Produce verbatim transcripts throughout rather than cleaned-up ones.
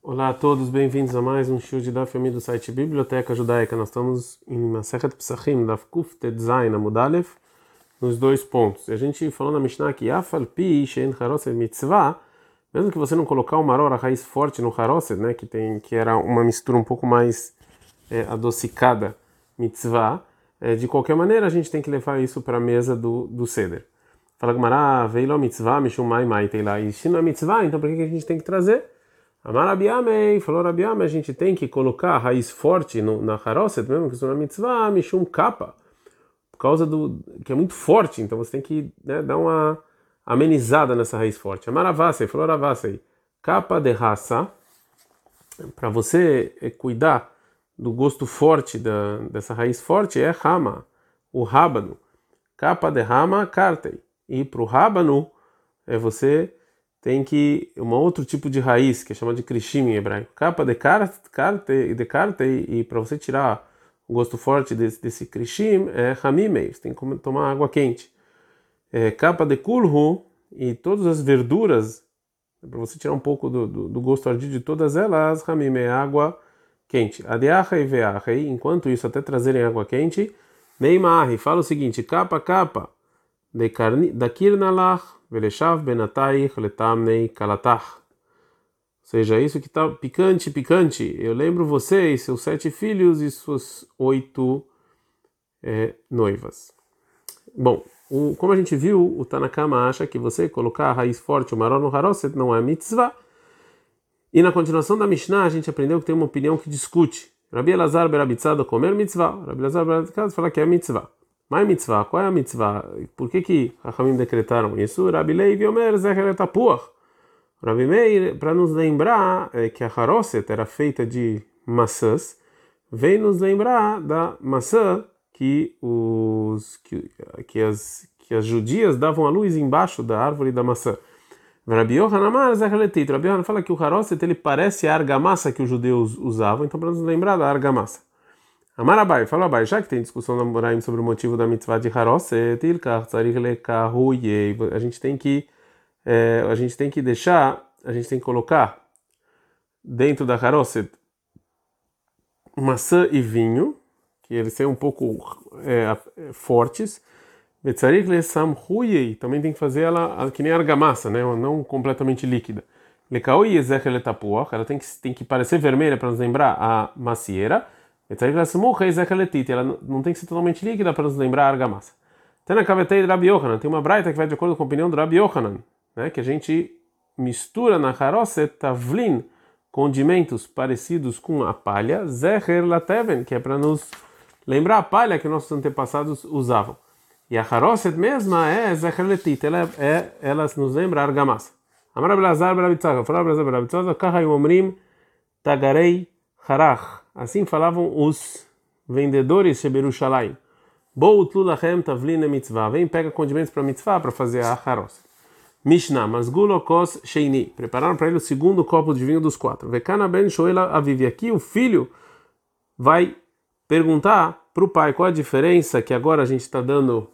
Olá a todos, bem-vindos a mais um show de Daf Yomi do site Biblioteca Judaica. Nós estamos em Masechet Pesachim, Daf Kuf Tetzain Amud Aleph, nos dois pontos. E a gente falou na Mishnah que Afal Pi Shein Haroset Mitzvah, mesmo que você não colocar o maror, a raiz forte no Haroset, né, que, tem, que era uma mistura um pouco mais é, adocicada, Mitzvah, é, de qualquer maneira a gente tem que levar isso para a mesa do, do Seder. Fala Gmará, Veilo Mitzvah, Mishum Mai Mai, tem lá. E se não é Mitzvah, então por que a gente tem que trazer? Amar Rabi Amei, falou Rabi Amei, a gente tem que colocar a raiz forte no, na haroset, mesmo que isso não é mitzvah, mishum capa, por causa do que é muito forte, então você tem que, né, dar uma amenizada nessa raiz forte. Amar Ravasei, falou Ravasei, capa de raça, para você é, cuidar do gosto forte da, dessa raiz forte é rama, o rábano, capa de rama, cartei, e para o rábano é você tem que um outro tipo de raiz que é chamada de krishim em hebraico. Capa de carte de carte e para você tirar o gosto forte desse, desse krishim é hamimei, você tem que tomar água quente. É, capa de kulhu e todas as verduras para você tirar um pouco do, do, do gosto ardido de todas elas, hamimei, água quente. Adeachei veachei, enquanto isso até trazerem água quente, meimari, fala o seguinte, capa capa de carni da kirnalach veleshav benataich letamnei kalatach. Ou seja, isso que está picante, picante. Eu lembro você e seus sete filhos e suas oito é, noivas. Bom, o, como a gente viu, o Tanakama acha que você colocar a raiz forte, o maror no haroset, não é mitzvah. E na continuação da Mishnah, a gente aprendeu que tem uma opinião que discute. Rabi Elazar berabitzado comer mitzvah. Rabi Elazar berabitzado fala que é mitzvah. Mas mitzvah, qual é a mitzvah? Por que que Hachamim decretaram isso? Rabi Levi Omer Zecher Tapuach. Rabi Meir, para nos lembrar é, que a haroset era feita de maçãs, vem nos lembrar da maçã que os que, que as que as judias davam à luz embaixo da árvore da maçã. Rabi Yohanan Amar Zecher Letit. Rabi Yohanan fala que o haroset ele parece a argamassa que os judeus usavam, então para nos lembrar da argamassa. Amar Abai, fala Abai, já que tem discussão na Moraim sobre o motivo da mitzvah de haroset, a gente tem que é, a gente tem que deixar, a gente tem que colocar dentro da haroset maçã e vinho, que eles são um pouco é, fortes. Também tem que fazer ela que nem argamassa, né, não completamente líquida. Ela tem que tem que parecer vermelha para nos lembrar a macieira. Ela não tem que ser totalmente líquida para nos lembrar a argamassa. Tem na cavetei de Rabi Yohanan, tem uma braita que vai de acordo com a opinião do Rabi Yohanan, né, que a gente mistura na haroset tavlin condimentos parecidos com a palha, zecher lateven, que é para nos lembrar a palha que nossos antepassados usavam. E a haroset mesma é zecher letit, ela, é, ela nos lembra a argamassa. Amar Rabi Elazar berabitzado, fala Rabi Elazar berabitzado, kahai omrim tagarei harach. Assim falavam os vendedores de Berushalayim. Boutlu lachem tavlin mitzvah. Vem, pega condimentos para mitzvah para fazer a haroset. Mishnah, masgulo kos sheini. Prepararam para ele o segundo copo de vinho dos quatro. Vekana ben shoela avivi. Aqui o filho vai perguntar para o pai qual a diferença que agora a gente está dando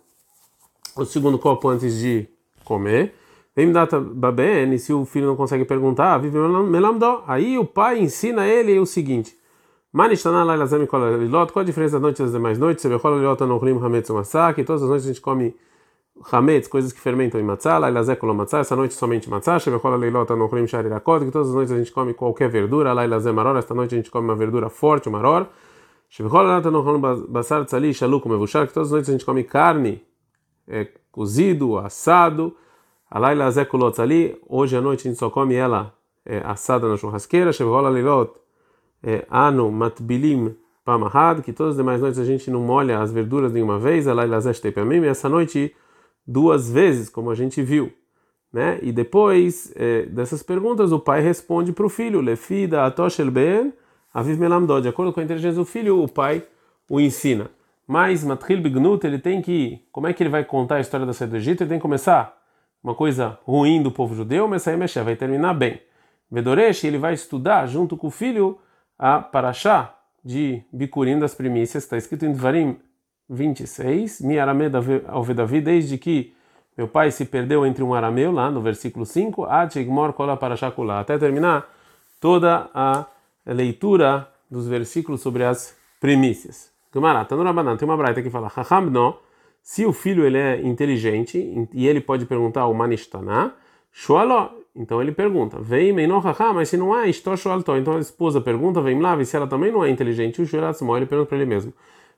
o segundo copo antes de comer. Vem data baben, e se o filho não consegue perguntar, vive melamdó. Aí o pai ensina ele o seguinte: Manishtaná lailazem kol lilot. Qual a diferença da noite das demais noites? Você vê kol lilot anochrim hametz umatzah, que todas as noites a gente come hametz, coisas que fermentam em matzah. Lailazem kol matzah, essa noite somente matzah. Você vê kol lilot anochrim sharirakot, que todas as noites a gente come qualquer verdura. Lailazem maror, esta noite a gente come uma verdura forte, o maror. Você vê kol lilot anochrim basar tzali shaluk mevushar, que todas as noites a gente come carne é, cozido, assado. Lailazem kol tzali, hoje à noite a gente só come ela é, assada na churrasqueira. Você vê kol lilot É, ano matbilim pamahad, que todas as demais noites a gente não molha as verduras de uma vez, e essa noite duas vezes, como a gente viu, né? E depois é, dessas perguntas o pai responde para o filho, lefida atoshel ben aviv melamdod, de acordo com a inteligência do filho, o pai o ensina. Mas matril bignut, ele tem que, como é que ele vai contar a história da saída do Egito? Ele tem que começar uma coisa ruim do povo judeu, mas aí mexer, vai terminar bem. Vedoresh, ele vai estudar junto com o filho a Parashá de Bikurim das primícias, está escrito em Dvarim vinte e seis, Mi arameu ao Davi, desde que meu pai se perdeu entre um arameu, lá no versículo cinco, até terminar toda a leitura dos versículos sobre as primícias. Gemara, Tanura Banan, tem uma braita que fala, Chacham no, se o filho ele é inteligente e ele pode perguntar o Manishtaná, Shoaló, então ele pergunta, vem Meino Chacham, mas se não é, Ishto Shoaltó, então a esposa pergunta, vem lá, e se ela também não é inteligente, o Shoalatzmo, ele pergunta para ele mesmo.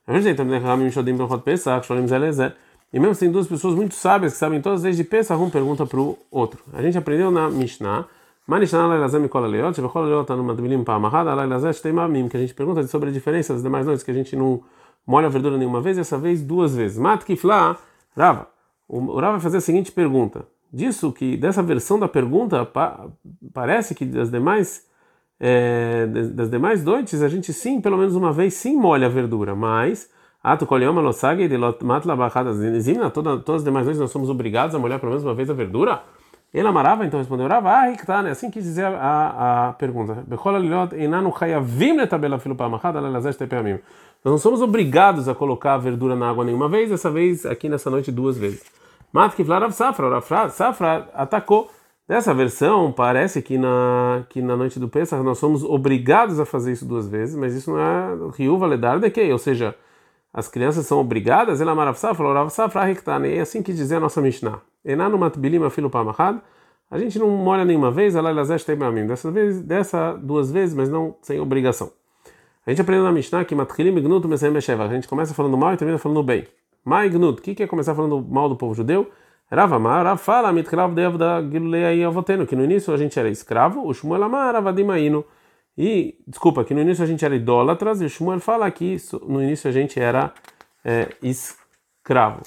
E mesmo se tem duas pessoas muito sábias que sabem todas as leis de Pesach, um pergunta para o outro. A gente aprendeu na Mishnah, que a gente pergunta sobre a diferença das demais noites, que a gente não molha a verdura nenhuma vez, e essa vez duas vezes. Matkifla, Rava. O Rava vai fazer a seguinte pergunta. Disso que, dessa versão da pergunta, pa, parece que das demais, é, das demais noites, a gente sim, pelo menos uma vez, sim molha a verdura, mas todas, todas as demais noites nós somos obrigados a molhar pelo menos uma vez a verdura? Ele amarava, então respondeu Rava, ah, que tá, né? Assim quis dizer a, a pergunta. Nós não somos obrigados a colocar a verdura na água nenhuma vez, dessa vez, aqui nessa noite, duas vezes. Mas que Rav Safra, Rav Safra atacou. Dessa versão, parece que na, que na noite do Pesach nós somos obrigados a fazer isso duas vezes, mas isso não é Riu Valedar de que, ou seja, as crianças são obrigadas, ele amar Rav Safra, Rav Safra, é assim que dizer a nossa Mishnah. Enanu matbilim afilo pamachad, a gente não molha nenhuma vez, dessa vez, dessa duas vezes, mas não sem obrigação. A gente aprendeu na Mishnah que matchilim ignut mesem besheva, a gente começa falando mal e termina falando bem. Ma ignut, o que é começar falando mal do povo judeu? Rav amar, Rav fala, mitchilav devda gilulei avotenu, que no início a gente era escravo, o Shmuel amar, avadimainu. E, desculpa, que no início a gente era idólatras, e o Shmuel fala que no início a gente era é, escravo.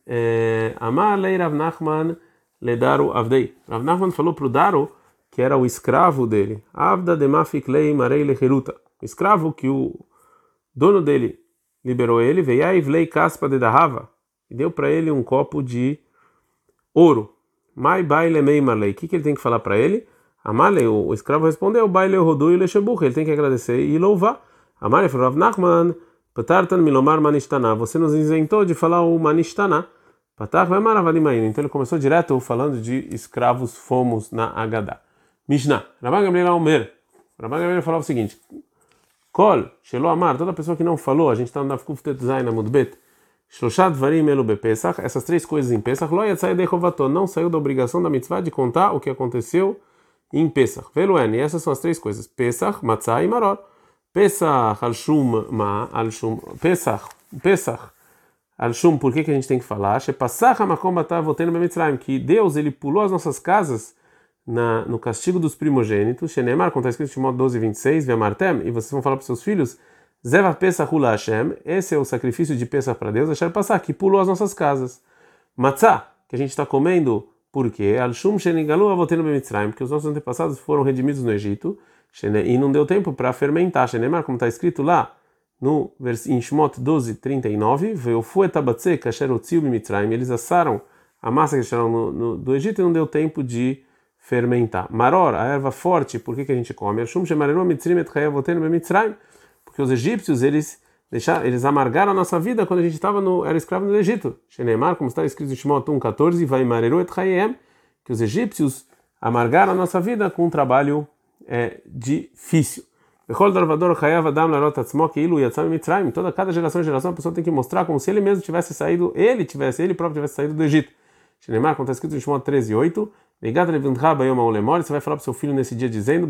Amar lei Rav Nachman le Daru Avdei. Rav Nachman falou para o Daru, que era o escravo dele, Avda demafik lei marei lecheruta. O escravo que o dono dele liberou ele, veiaiv lei caspa de dahava, e deu para ele um copo de ouro. Mai baile mei marlei. O que, que ele tem que falar para ele? Amalei, o escravo respondeu, baile rodu e lechebuch, ele tem que agradecer e louvar. Amalei falou, Rav Nachman, patartan milomar manishtaná, você nos isentou de falar o manishtaná. Patar vai maravadimaína. Então ele começou direto falando de escravos fomos na Agadá. Mishnah, Rabban Gamliel Omer. Rabban Gamliel falava o seguinte, Kol, Shelo Amar, toda pessoa que não falou, a gente está no Dafkuf Tetzain Amudbet, Shloshat Varim Elu Bepesach, essas três coisas em Pesach, Lo Yatzai Dechovato, não saiu da obrigação da mitzvah de contar o que aconteceu em Pesach. Veluen, e essas são as três coisas, Pesach, Matzah e Maror. Pesach, Al-Shum, Ma, Al-Shum, Pesach, Pesach, Al-Shum, por que que a gente tem que falar? Shepasach HaMakom Batav Votenu Bemitzrayim, que Deus, ele pulou as nossas casas na, no castigo dos primogênitos, Shenemar, como está escrito em Shemot doze, vinte e seis, Ve'amartem, e vocês vão falar para os seus filhos, Zeva Pesach Ula Hashem, esse é o sacrifício de Pesach para Deus, Asher Passach, que pulou as nossas casas. Matzah, que a gente está comendo, por quê? Al-Shum Shenigalu Avotenu Bemitzrayim, porque os nossos antepassados foram redimidos no Egito, e não deu tempo para fermentar, Shenemar, como está escrito lá, no em Shemot doze, trinta e nove, eles assaram a massa que acharam no, no, do Egito e não deu tempo de fermentar. Maror, a erva forte, por que, que a gente come? Porque os egípcios, eles, deixaram, eles amargaram a nossa vida quando a gente estava no, era escravo no Egito. Shenemar, como está escrito em Shemot um, quatorze, que os egípcios amargaram a nossa vida com um trabalho é, difícil. Toda cada geração e geração a pessoa tem que mostrar como se ele mesmo tivesse saído, ele tivesse, ele próprio tivesse saído do Egito. Shenemar, como está escrito em Shemot treze, oito, você vai falar para o seu filho nesse dia dizendo,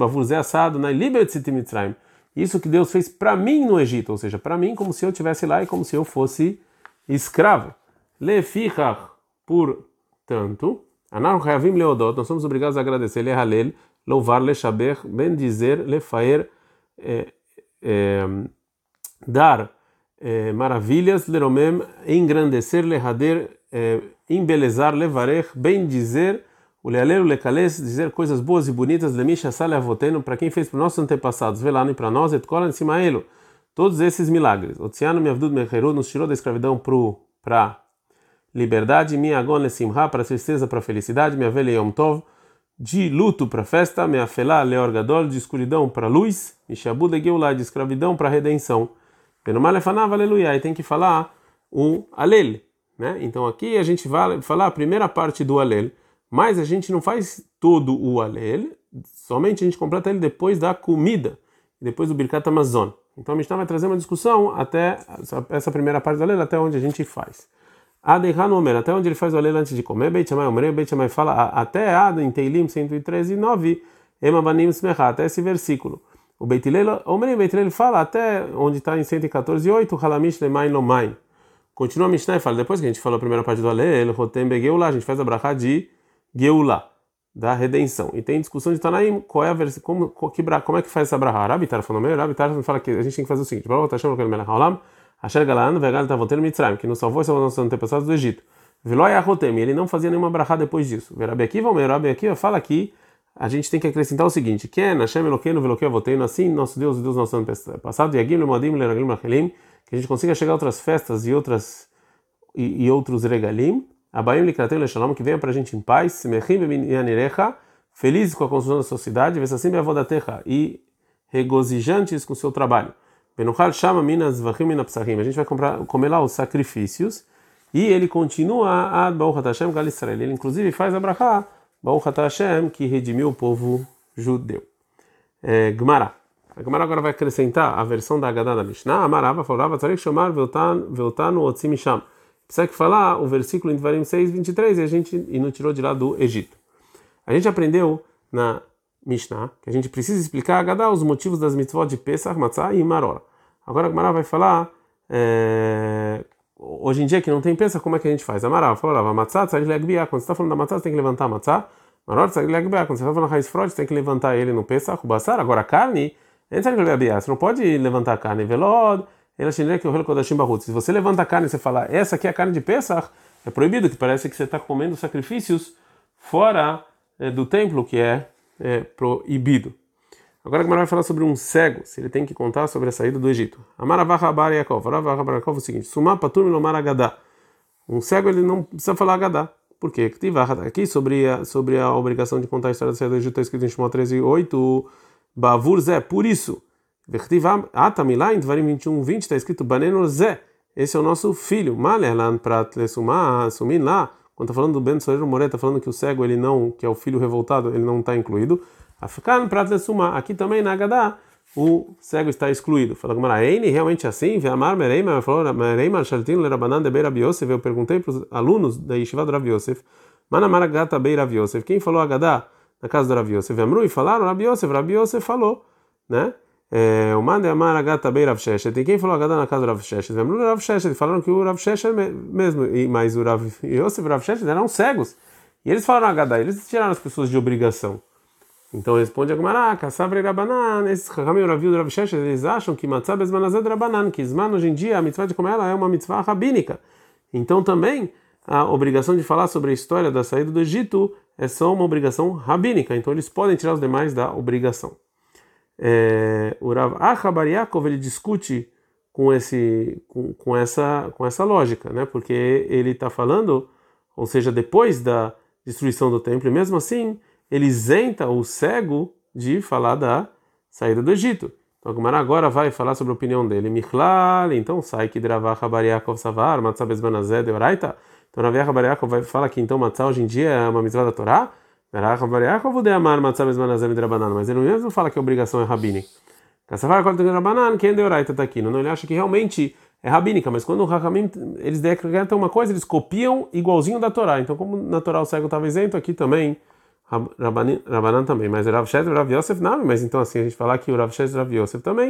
isso que Deus fez para mim no Egito, ou seja, para mim como se eu estivesse lá e como se eu fosse escravo. Lefichach, portanto, nós somos obrigados a agradecer, lehalel, louvar, lechaber, bendizer, lefaer, É, é, dar é, maravilhas, leromem, engrandecer, lehader, é, embelezar, levarech, bem dizer, o lealer, o lecales, dizer coisas boas e bonitas, lemisha sale avoteno, para quem fez para os nossos antepassados, velano e para nós, et kolan simaelo, todos esses milagres. Otsiano me avdud mecheru, nos tirou da escravidão para liberdade, minha agon lesimha, para tristeza, para felicidade, minha velha yom tov, de luto para festa, meafelá leor gadol, de escuridão para luz, e shabu de geulah, de escravidão para redenção. Penomalefanava, aleluia, e tem que falar o alel, né? Então aqui a gente vai falar a primeira parte do alel, mas a gente não faz todo o Alel, somente a gente completa ele depois da comida, depois do Birkat Hamazon. Então a Mishnah vai trazer uma discussão até essa primeira parte do Alel, até onde a gente faz. Adeihan Omer, até onde ele faz o Alel antes de comer. Beit Shammai Omer, Beit Shammai fala até Ad, em Teilim cento e treze, nove, Ema Banim Smecha, até esse versículo. O Beit Hillel Omer, Beit Hillel fala até onde está em cento e quatorze, oito, Halamish Lemain Lomain. Continua a Mishnah e fala, depois que a gente falou a primeira parte do Alel, Rotem Begeulá, a gente faz a brachá de Geulá, da redenção. E tem discussão de Tanaim, qual é a versão, como, que, como é que faz essa brachá? Rabi Tar falou meio, Rabi Tar fala que a gente tem que fazer o seguinte: Baruch Hashem Elokeinu melech haolam, Asher Galan vegal tavoteinu Mitzrayim, que nos salvou e salvou nossos antepassados do Egito. Veló Yahotem, ele não fazia nenhuma brachá depois disso. Rabi Akiva, o Rabi Akiva fala que a gente tem que acrescentar o seguinte: Ken Hashem Elokeinu veloquei avoteinu, assim nosso Deus, o Deus nossos antepassados, Yagim lemoadim leraglim lachelim, que a gente consiga chegar a outras festas e outras e, e outros regalim. Abaim likratem leshalom, que venha para a gente em paz, semechim b'minyanerecha, felizes com a construção da sociedade, vesassim be'avodatecha, e regozijantes com o seu trabalho. Benuchal shama minas vachim minapsachim, a gente vai comprar, comer lá os sacrifícios, e ele continua ad Baruch Hashem gal Israel, ele inclusive faz a brachá Baruch Hashem, que redimiu o povo judeu. É, Gemara. A Gemara agora vai acrescentar a versão da Haggadah da Mishnah. Amarava falava tzarich shomar veotanu otzim misham. Precisa que falar o versículo em Devarim seis, vinte e três, e a gente e não tirou de lá do Egito. A gente aprendeu na Mishnah que a gente precisa explicar a Haggadah os motivos das mitzvot de Pesach, Matzah e Maror. Agora a Gemara vai falar, é, hoje em dia que não tem Pesach, como é que a gente faz? Amarava falava, Matzah tzarich leagbiah, quando você está falando da Matzah, você tem que levantar a Matzah. Maror tzarich leagbiah, quando você está falando da raiz frode, você tem que levantar ele no Pesach, o Basar. Agora a carne, você não pode levantar a carne, velod. Se você levanta a carne e você fala, essa aqui é a carne de Pesach, é proibido, que parece que você está comendo sacrifícios fora é, do templo, que é, é proibido. Agora a Gemara vai falar sobre um cego, se ele tem que contar sobre a saída do Egito. Amaravacha bar Yaakov, Amaravacha bar Yaakov é o seguinte: Sumá patur milomar Haggadah. Um cego ele não precisa falar Haggadah. Por quê? Aqui sobre a, sobre a obrigação de contar a história da saída do Egito está escrito em Shemot treze, oito, Bavur Zé, por isso. Atamilá, em Devarim vinte e um, vinte, está escrito Baneno Zé, esse é o nosso filho. Malerlan Prat Lesumá, Sumin lá, quando está falando do Ben Soreiro Moré, está falando que o cego, ele não, que é o filho revoltado, ele não está incluído. Afikan Prat Lesumá, aqui também na Haggadah, o cego está excluído. Fala como era, Eini, realmente assim? Veamar Mereima, falou Mereima Shaltin Lerabanan de Beira Biosef. Eu perguntei para os alunos da Yeshiva do Rav Yosef, Manamar Gata Beira Biosef, quem falou Haggadah na casa do Rav Yosef? Amru e falaram Rav Yosef, Rav Yosef falou, né? O mande amar agata bei Rav Sheshet. Tem quem falou Haggadah na casa do Rav Sheshet? Vemos Rav Sheshet, falaram que o Rav Sheshet mesmo, mas o Rav Yosef e o Rav Sheshet eram cegos. E eles falaram Haggadah, eles tiraram as pessoas de obrigação. Então responde a Gemara, Kassavrei Rabanan, esses Chachamim e o Rav Yud e o Rav Sheshet, eles acham que Matzah bezman hazeh de Rabanan, que Zman hoje em dia a mitzvah de comer ela é uma mitzvah rabínica. Então também a obrigação de falar sobre a história da saída do Egito é só uma obrigação rabínica. Então eles podem tirar os demais da obrigação. É, o Rav Acha bar Yaakov ele discute com esse com, com essa com essa lógica, né? Porque ele está falando, ou seja, depois da destruição do templo, e mesmo assim ele isenta o cego de falar da saída do Egito. Então a Gemara agora vai falar sobre a opinião dele. Michlal, então sai que Rav Acha bar Yaakov savar matzah bezman hazeh de oraita. Então Rav Acha bar Yaakov vai falar que então matzah hoje em dia é uma mitzvah da Torá. Mas ele mesmo fala que a obrigação é rabínica. Não, ele acha que realmente é rabínica, mas quando o Rahamim eles decretam uma coisa, eles copiam igualzinho da Torá. Então, como na Torá o cego estava isento, aqui também Rabanan também. Mas Rav Sheshet e Rav Yosef não, mas então assim a gente falar que o Rav Sheshet e o Rav Yosef também.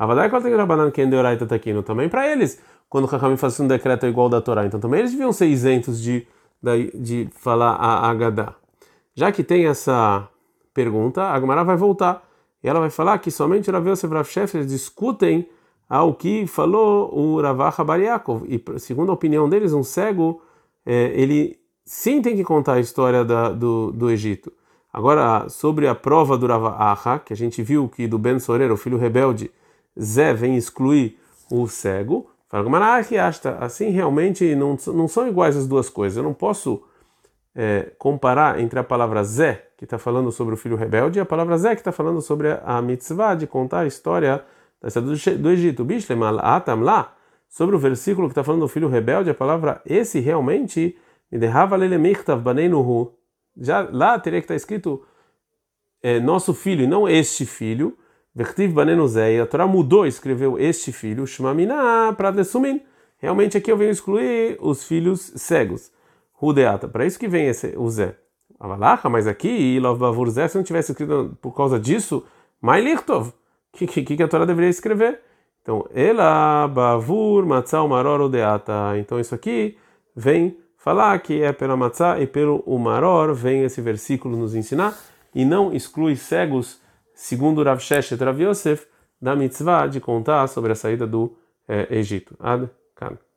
Também para eles, quando o Rahamim faz um decreto igual da Torá, então também eles deviam ser isentos de, de, de falar a Haggadah. Já que tem essa pergunta, a Gemara vai voltar e ela vai falar que somente o Rav Yosef e o Rav Sheshet discutem ao que falou o Rav Acha bar Yaakov. E segundo a opinião deles, um cego, é, ele sim tem que contar a história da, do, do Egito. Agora, sobre a prova do Rav Acha, que a gente viu que do Ben Sorer, o filho rebelde, Zé vem excluir o cego, fala Gemara, assim realmente não, não são iguais as duas coisas. Eu não posso... É, comparar entre a palavra Zé, que está falando sobre o filho rebelde, e a palavra Zé, que está falando sobre a mitzvah de contar a história da saída do Egito. Bishlem atam lá, sobre o versículo que está falando do filho rebelde, a palavra esse realmente, já lá teria que estar escrito é, nosso filho e não este filho. Vertiv banenu zei, a Torá mudou, escreveu este filho, shmamina prat lesumin. Realmente aqui eu venho excluir os filhos cegos. Rudeata, para isso que vem esse, o Zé. Avalacha, mas aqui, Lov Bavur Zé, se não tivesse escrito por causa disso, Mai Lichtov, o que, que, que a Torá deveria escrever? Então, Ela Bavur Matzah Maror Rudeata. Então isso aqui vem falar que é pela Matzah e pelo Umaror, vem esse versículo nos ensinar, e não exclui cegos, segundo Rav Sheshet Rav Yosef, da mitzvah de contar sobre a saída do eh, Egito. Ad Kan.